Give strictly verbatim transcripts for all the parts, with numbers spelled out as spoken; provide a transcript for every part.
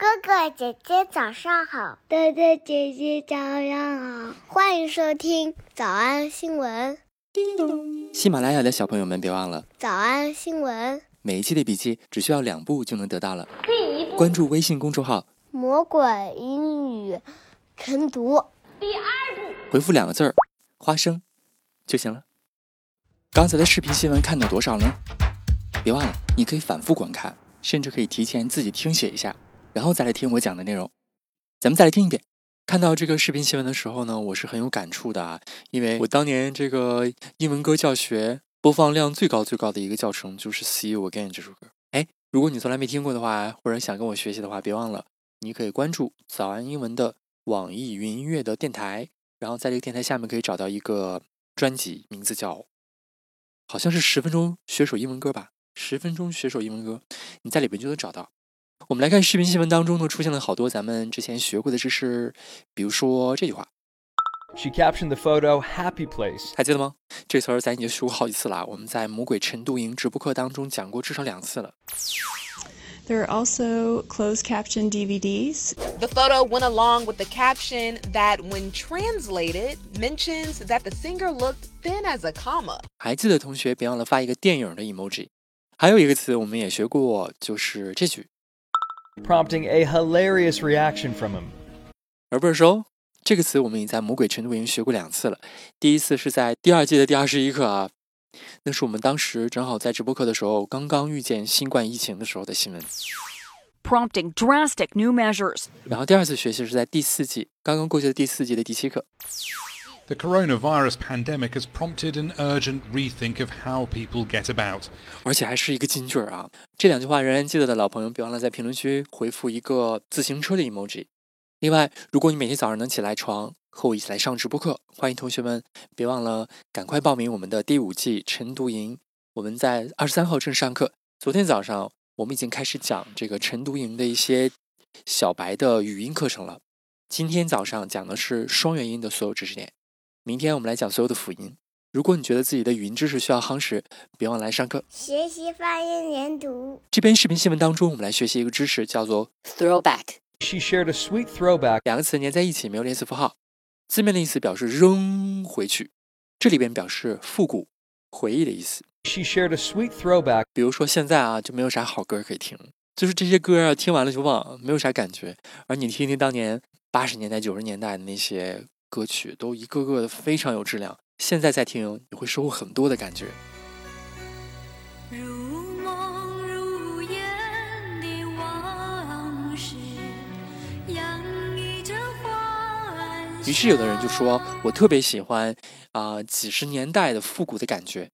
哥哥姐姐早上好， 哥哥姐姐早上好， 欢迎收听早安新闻。 叮咚！喜马拉雅的小朋友们别忘了早安新闻， 每一期的笔记只需要两步就能得到了。第一步，关注微信公众号魔鬼英语晨读。 第二步， 回复两个字儿花生就行了。刚才的视频新闻看到多少呢？别忘了你可以反复观看，甚至可以提前自己听写一下，然后再来听我讲的内容。咱们再来听一遍。看到这个视频新闻的时候呢，我是很有感触的啊，因为我当年这个英文歌教学播放量最高最高的一个教程就是 See You Again 这首歌。哎，如果你从来没听过的话，或者想跟我学习的话，别忘了你可以关注早安英文的网易云音乐的电台，然后在这个电台下面可以找到一个专辑，名字叫好像是十分钟学首英文歌吧，十分钟学首英文歌，你在里边就能找到。我们来看视频新闻当中呢，出现了好多咱们之前学过的知识，比如说这句话 She captioned the photo happy place， 还记得吗？这词儿咱已经学过好几次了，我们在魔鬼晨读营直播课当中讲过至少两次了。 There are also closed caption D V Ds. The photo went along with the caption that, when translated, mentions that the singer looked thin as a comma. 还记得同学别忘了发一个电影的 emoji。还有一个词我们也学过，就是这句 prompting a hilarious reaction from him。 而不是说这个词我们已在魔鬼晨读营学过两次了。第一次是在第二季的第二十一课啊，那是我们当时正好在直播课的时候刚刚遇见新冠疫情的时候的新闻， prompting drastic new measures。 然后第二次学习是在第四季刚刚过去的第四季的第七课。 The coronavirus pandemic has prompted an urgent rethink of how people get about. 而且还是一个金句啊！这两句话仍然记得的老朋友，别忘了在评论区回复一个自行车的 emoji。另外，如果你每天早上能起来床和我一起来上直播课，欢迎同学们别忘了赶快报名我们的第五季晨读营。我们在二十三号正式上课。昨天早上我们已经开始讲这个晨读营的一些小白的语音课程了。今天早上讲的是双元音的所有知识点。明天我们来讲所有的辅音。如果你觉得自己的语音知识需要夯实，别忘了来上课。 学习发音连读。 这篇视频新闻当中，我们来学习一个知识，叫做 throwback。 She shared a sweet throwback。 两个词连在一起，没有连词符号，字面的意思表示扔回去，这里边表示复古回忆的意思。 She shared a sweet throwback。 比如说现在啊，就没有啥好歌可以听，就是这些歌啊，听完了就忘，没有啥感觉。而你听听当年八十年代九十年代的那些歌曲，都一个个的非常有质量，现在再听你会收获很多的感觉。 如梦如烟的往事洋溢着欢喜。 于是有的人就说，我特别喜欢啊、呃、几十年代的复古的感觉。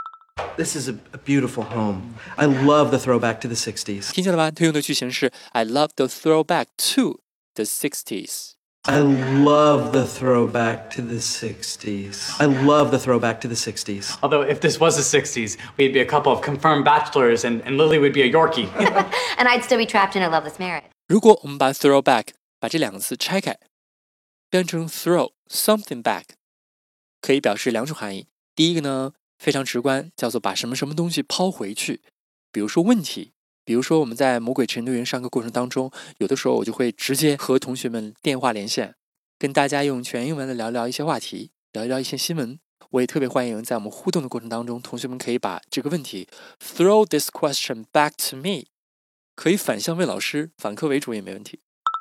This is a, a beautiful home. I love the throwback to the sixties. 听见了吧？他用的句型是 I love the throwback to the sixties. I love the throwback to the sixties. I love the throwback to the sixties. Although if this was the sixties, we'd be a couple of confirmed bachelors and, and Lily would be a Yorkie. And I'd still be trapped in a loveless marriage. 如果我们把 throwback 把这两个词拆开，变成 throw something back， 可以表示两种含义。第一个呢，非常直观，叫做把什么什么东西抛回去，比如说问题。比如说我们在魔鬼晨读营上课过程当中，有的时候我就会直接和同学们电话连线，跟大家用全英文的聊聊一些话题，聊一聊一些新闻。我也特别欢迎在我们互动的过程当中，同学们可以把这个问题 throw this question back to me， 可以反向问老师，反客为主也没问题。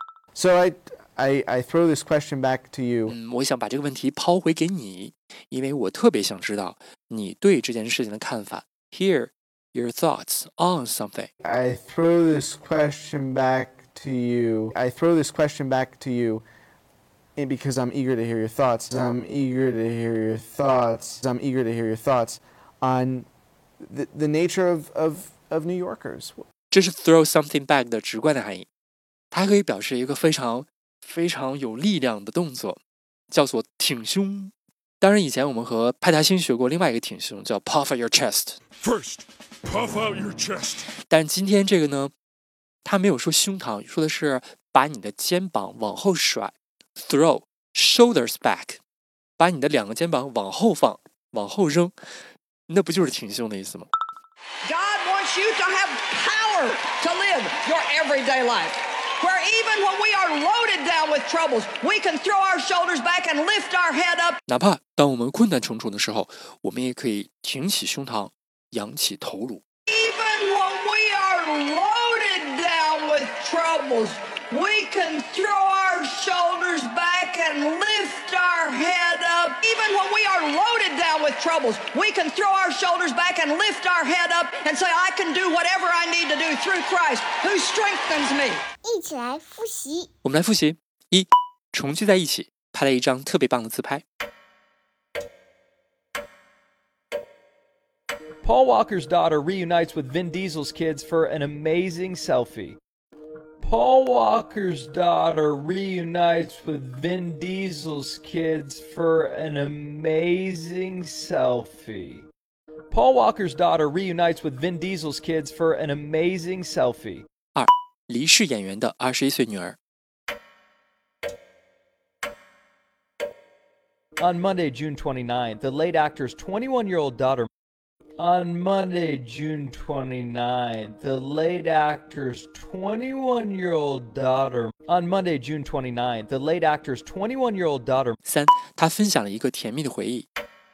So I, I, I throw this question back to you. 嗯，我想把这个问题抛回给你，因为我特别想知道你对这件事情的看法。Here your thoughts on something. I throw this question back to you. I throw this question back to you because I'm eager to hear your thoughts. I'm eager to hear your thoughts. I'm eager to hear your thoughts on the, the nature of, of, of New Yorkers. 这是 throw something back 的直观的含义，它可以表示一个非常非常有力量的动作，叫做挺胸。当然以前我们和派大星学过另外一个挺胸，叫 puff out your chest. First, puff out your chest. 但今天这个呢，他没有说胸膛，说的是把你的肩膀往后甩 throw shoulders back， 把你的两个肩膀往后放，往后扔，那不就是挺胸的意思吗？ God wants you to have power to live your everyday life. where even when we are loaded down with troubles, we can throw our shoulders back and lift our head up. 哪怕当我们困难重重的时候，我们也可以挺起胸膛，仰起头颅。 Even when we are loaded down with troubles, we can throw our shoulders back and lift our head up. Even when we are loaded down with troubles, we can throw our shoulders back and lift our head up and say, I can do whatever I need to do through Christ who strengthens me. 一起来复习。 我们来复习：一，重聚在一起，拍了一张特别棒的自拍。 Paul Walker's daughter reunites with Vin Diesel's kids for an amazing selfie. Paul Walker's daughter reunites with Vin Diesel's kids for an amazing selfie. Paul Walker's daughter reunites with Vin Diesel's kids for an amazing selfie. 二，离世演员的二十一岁女儿。 On Monday, June twenty-ninth, the late actor's twenty-one-year-old daughter On Monday, June twenty-ninth, the late actor's twenty-one-year-old daughter. On Monday, June twenty-ninth, the late actor's twenty-one-year-old daughter. 三，他分享了一个甜蜜的回忆。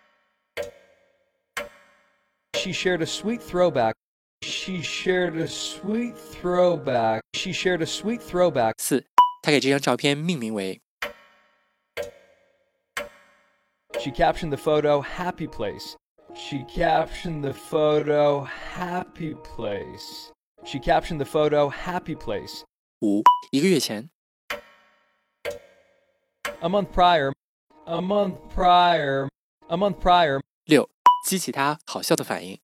She shared a sweet throwback. She shared a sweet throwback. She shared a sweet throwback. 四，他给这张照片命名为。 She captioned the photo "Happy Place." She captioned the photo "Happy Place." She captioned the photo "Happy Place." 五，一个月前。 A month prior. A month prior. A month prior. 六，激起他好笑的反应。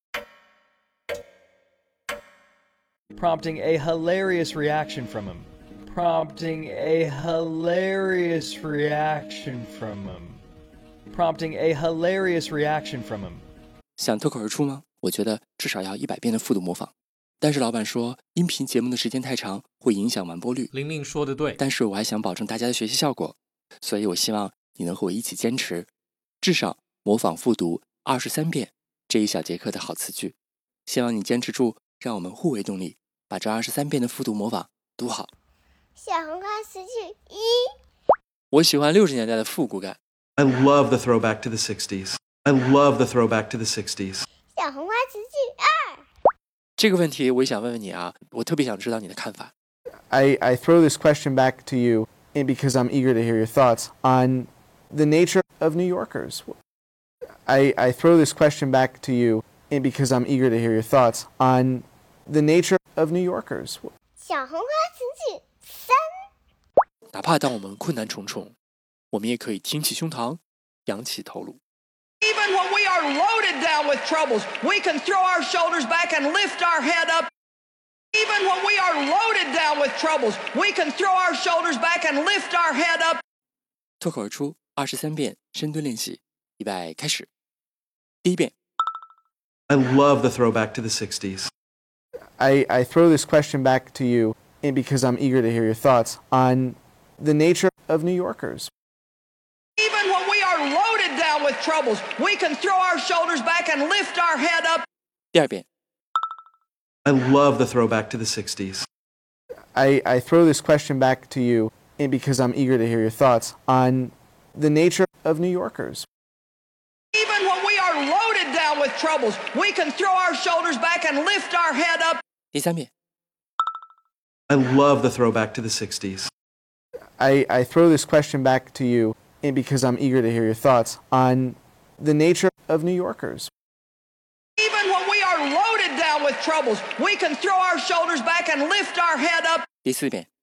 Prompting a hilarious reaction from him. Prompting a hilarious reaction from him. Prompting a hilarious reaction from him. 想脱口而出吗？我觉得至少要一百遍的复读模仿。但是老板说，音频节目的时间太长，会影响完播率。 玲玲说的对， 但是我还想保证大家的学习效果，所以我希望你能和我一起坚持，至少模仿复读二十三遍这一小节课的好词句。希望你坚持住，让我们互为动力，把这二十三遍的复读模仿读好。 小红花词句一， 我喜欢六十年代的复古感。 I love the throwback to the sixties. I love the throwback to the sixties. 小红花词句二， 这个问题我也想问问你啊，我特别想知道你的看法。 I, I throw this question back to you because I'm eager to hear your thoughts on the nature of New Yorkers. I, I throw this question back to you because I'm eager to hear your thoughts on the nature of New Yorkers. 小红花词句三， 哪怕当我们困难重重，我们也可以挺起胸膛，仰起头颅。 Even when we are loaded down with troubles, we can throw our shoulders back and lift our head up. Even when we are loaded down with troubles, we can throw our shoulders back and lift our head up. 脱口而出二十三遍深蹲练习，预备开始。第一遍。 I love the throwback to the sixties. I, I throw this question back to you because I'm eager to hear your thoughts on the nature of New Yorkers. Even when we are loaded down with troubles, we can throw our shoulders back and lift our head up. 第二遍。 I love the throwback to the sixties. I, I throw this question back to you because I'm eager to hear your thoughts on the nature of New Yorkers. Even when we are loaded down with troubles, we can throw our shoulders back and lift our head up. 第三遍。 I love the throwback to the sixties. I, I throw this question back to you because I'm eager to hear your thoughts on the nature of New Yorkers. Even when we are loaded down with troubles, we can throw our shoulders back and lift our head up. 第四遍。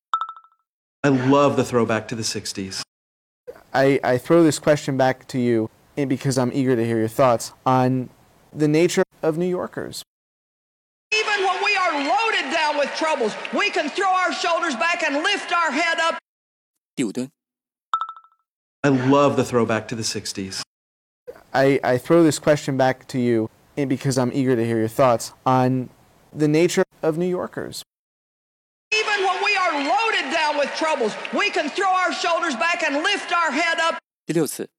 I love the throwback to the sixties. I, I throw this question back to you because I'm eager to hear your thoughts on the nature of New Yorkers. Even when we are loaded down with troubles, we can throw our shoulders back and lift our head up. 第五蹲。 I love the throwback to the sixties. I, I throw this question back to you because I'm eager to hear your thoughts on the nature of New Yorkers. Even when we are loaded down with troubles, we can throw our shoulders back and lift our head up. 第六次。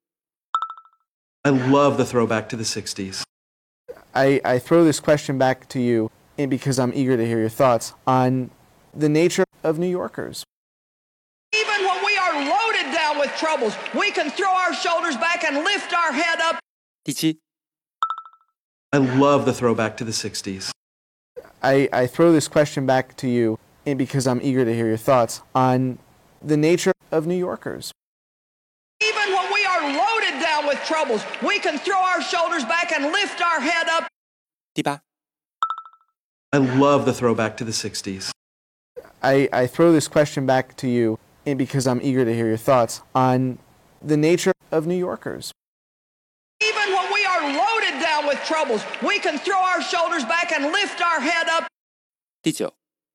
I love the throwback to the sixties. I, I throw this question back to you because I'm eager to hear your thoughts on the nature of New Yorkers. Even when we are loaded down with troubles, we can throw our shoulders back and lift our head up. 第七， I love the throwback to the sixties. I, I throw this question back to you and because I'm eager to hear your thoughts on the nature of New Yorkers. Even when we are loaded down with troubles, we can throw our shoulders back and lift our head up. 第八， I love the throwback to the sixties. I, I throw this question back to you and because I'm eager to hear your thoughts on the nature of New Yorkers. Even when we are loaded down with troubles, we can throw our shoulders back and lift our head up. 第九，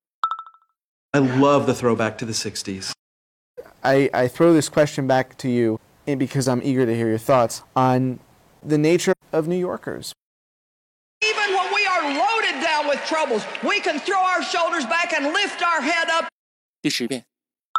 I love the throwback to the sixties. I, I throw this question back to you and because I'm eager to hear your thoughts on the nature of New Yorkers. Even when we are loaded down with troubles, we can throw our shoulders back and lift our head up. 第十遍，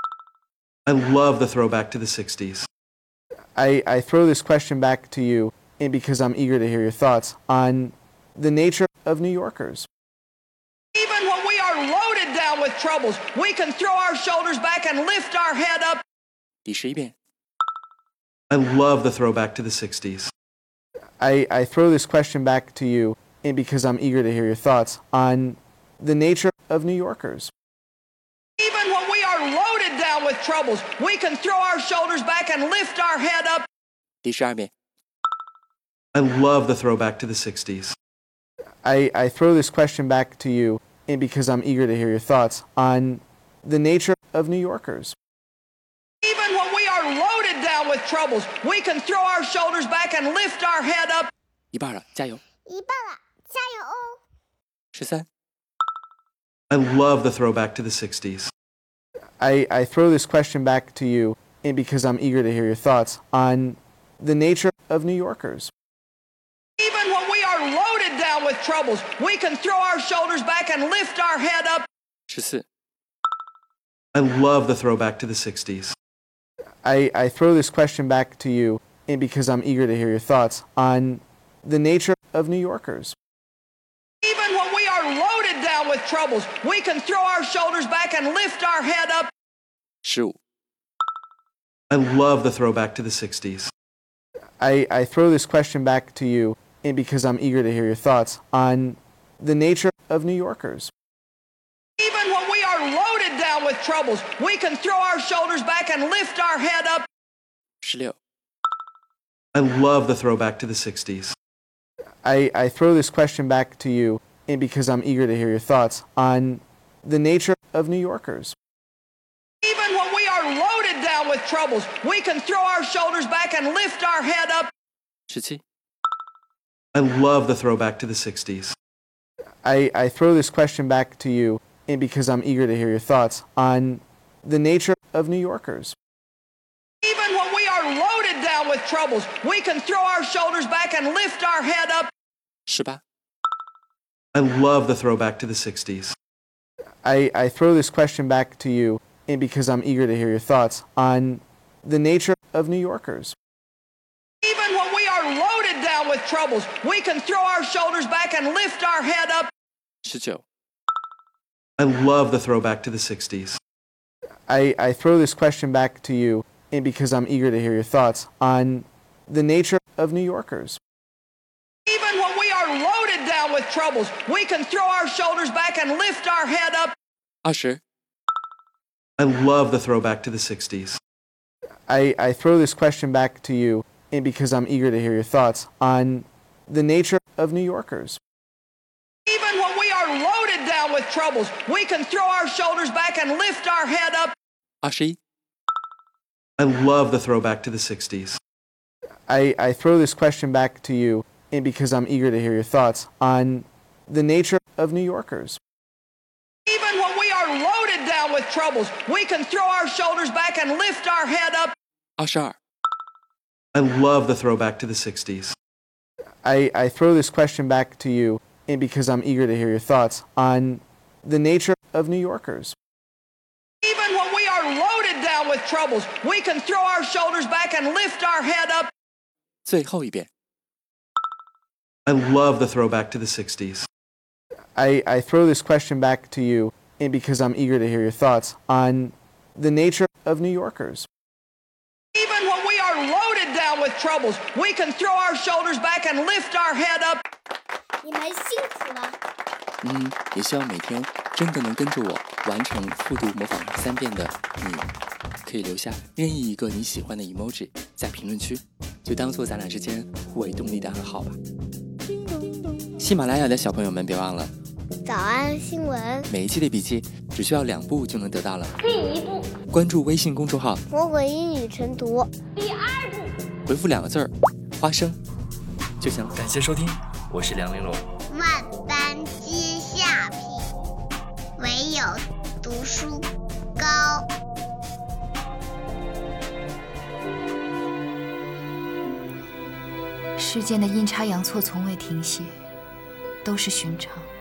I love the throwback to the sixties. I, I throw this question back to you and because I'm eager to hear your thoughts on the nature of New Yorkers. Even when we are loaded down with troubles, we can throw our shoulders back and lift our head up. 第十一遍， I love the throwback to the sixties. I, I throw this question back to you and because I'm eager to hear your thoughts on the nature of New Yorkers. Even when we are loaded down with troubles, we can throw our shoulders back and lift our head up. 第十二遍， I love the throwback to the sixties. I, I throw this question back to you and because I'm eager to hear your thoughts on the nature of New Yorkers. Even when we are loaded down with troubles, we can throw our shoulders back and lift our head up. 一半了，加油！ 一半了，加油哦！ 十三， I love the throwback to the sixties. I, I throw this question back to you and because I'm eager to hear your thoughts on the nature of New Yorkers. Even when we are loaded down with troubles, we can throw our shoulders back and lift our head up. 十四， I love the throwback to the sixties. I, I throw this question back to you and because I'm eager to hear your thoughts on the nature of New Yorkers. Even when we are loaded down with troubles, we can throw our shoulders back and lift our head up. 十五， I love the throwback to the sixties. I, I throw this question back to you and because I'm eager to hear your thoughts on the nature of New Yorkers. Even when we are loaded down with troubles, we can throw our shoulders back and lift our head up. 十六， I love the throwback to the sixties. I, I throw this question back to you and because I'm eager to hear your thoughts on the nature of New Yorkers. Even when we are loaded down with troubles, we can throw our shoulders back and lift our head up. 十七， I love the throwback to the sixties. I, I throw this question back to you and because I'm eager to hear your thoughts on the nature of New Yorkers. Even when we are loaded down with troubles, we can throw our shoulders back and lift our head up. 十八， I love the throwback to the sixties. I, I throw this question back to you and because I'm eager to hear your thoughts on the nature of New Yorkers. Even when we are loaded down with troubles, we can throw our shoulders back and lift our head up. 十九， I love the throwback to the sixties. I, I throw this question back to you and because I'm eager to hear your thoughts on the nature of New Yorkers. Even when we are loaded down with troubles, we can throw our shoulders back and lift our head up. 二十， I love the throwback to the sixties. I, I throw this question back to you and because I'm eager to hear your thoughts on the nature of New Yorkers. Even when we are loaded down with troubles, we can throw our shoulders back and lift our head up. 二十一， I love the throwback to the sixties. I, I throw this question back to you and because I'm eager to hear your thoughts on the nature of New Yorkers. Even when we are loaded down with troubles, we can throw our shoulders back and lift our head up. 二十二， I love the throwback to the sixties. I, I throw this question back to you and because I'm eager to hear your thoughts on the nature of New Yorkers. Even when we are loaded down with troubles, we can throw our shoulders back and lift our head up. 最后一遍， I love the throwback to the sixties. I, I throw this question back to you and because I'm eager to hear your thoughts on the nature of New Yorkers. Even when we are loaded down with troubles, we can throw our shoulders back and lift our head up. 你们辛苦了。 嗯，也希望每天真的能跟着我完成复读模仿三遍的你，可以留下任意一个你喜欢的 emoji 在评论区，就当做咱俩之间互为动力的暗号吧。喜马拉雅的小朋友们，别忘了早安新闻， 每一期的笔记只需要两步就能得到了。 第一步， 关注微信公众号魔鬼英语晨读。第二步， 回复两个字儿花生就行了。感谢收听，我是梁玲珑。 万般皆下品，唯有读书高。 世间的阴差阳错从未停歇，都是寻常。